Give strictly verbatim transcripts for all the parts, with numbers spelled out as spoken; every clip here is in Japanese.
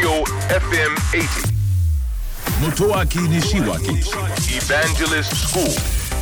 Tokyo エフエムはちじゅう Motoaki Nishiwaki Evangelist School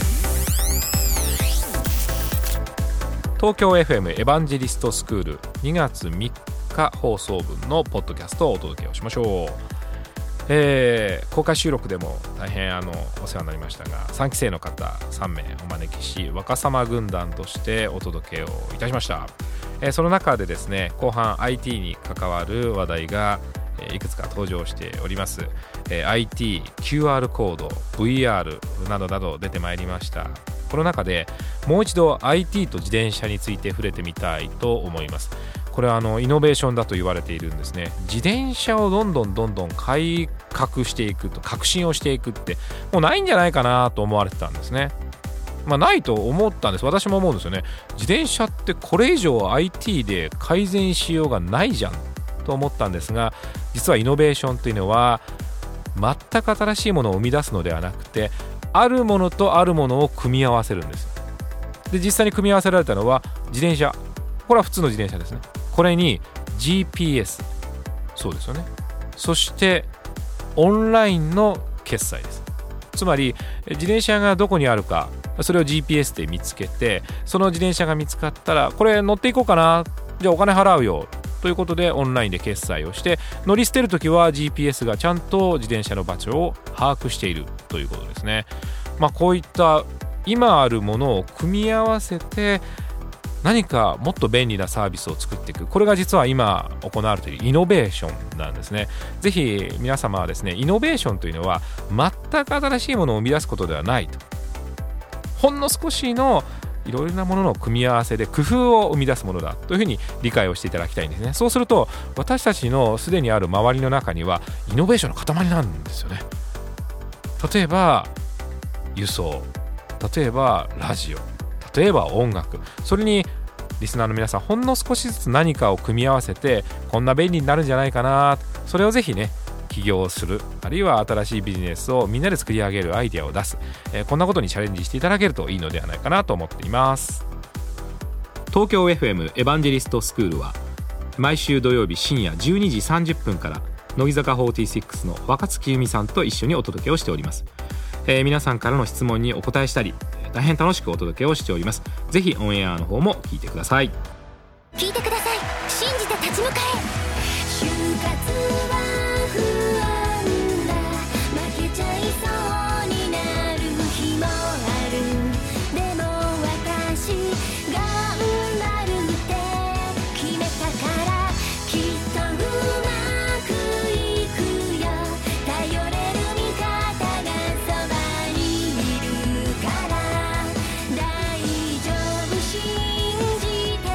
東京 エフエム エヴァンジェリストスクールにがつみっか放送分のポッドキャストをお届けをしましょう。えー、公開収録でも大変あのお世話になりましたが、さんき生の方さんめいお招きし、若様軍団としてお届けをいたしました。えー、その中でですね、後半 アイティー に関わる話題がいくつか登場しております。えー、アイティー、キューアール コード、ブイアール などなど出てまいりました。この中でもう一度 アイティー と自転車について触れてみたいと思います。これはあのイノベーションだと言われているんですね。自転車をどんどんどんどん改革していくと、革新をしていくってもうないんじゃないかなと思われてたんですね。まあないと思ったんです。私も思うんですよね。自転車ってこれ以上 アイティー で改善しようがないじゃんと思ったんですが、実はイノベーションというのは全く新しいものを生み出すのではなくて、あるものとあるものを組み合わせるんです。で、実際に組み合わせられたのは自転車。これは普通の自転車ですね。これに ジーピーエス、 そうですよね。そしてオンラインの決済です。つまり自転車がどこにあるか、それを ジーピーエス で見つけて、その自転車が見つかったら、これ乗っていこうかな、じゃあお金払うよということでオンラインで決済をして、乗り捨てるときは ジーピーエス がちゃんと自転車の場所を把握しているということですね。まあ、こういった今あるものを組み合わせて何かもっと便利なサービスを作っていく、これが実は今行われているイノベーションなんですね。ぜひ皆様はですね、イノベーションというのは全く新しいものを生み出すことではないと、ほんの少しのいろいろなものの組み合わせで工夫を生み出すものだというふうに理解をしていただきたいんですね。そうすると私たちのすでにある周りの中にはイノベーションの塊なんですよね。例えば輸送、例えばラジオ、例えば音楽、それにリスナーの皆さん、ほんの少しずつ何かを組み合わせてこんな便利になるんじゃないかな、それをぜひね起業する、あるいは新しいビジネスをみんなで作り上げるアイデアを出す、えー、こんなことにチャレンジしていただけるといいのではないかなと思っています。東京 エフエム エヴァンジェリストスクールは毎週土曜日深夜じゅうにじさんじゅっぷんから乃木坂フォーティーシックスの若月由美さんと一緒にお届けをしております。えー、皆さんからの質問にお答えしたり、大変楽しくお届けをしております。ぜひオンエアの方も聞いてください。 聞いてください。信じて立ち向かえ。就活は不安だ、負けちゃいそうになる日もある。でも私頑張るって決めたから、きっとうまくいくよ。頼れる味方がそばにいるから大丈夫、信じて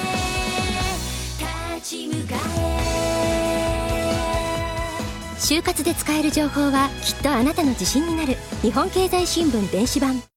立ち向かえ。就活で使える情報はきっとあなたの自信になる。日本経済新聞電子版。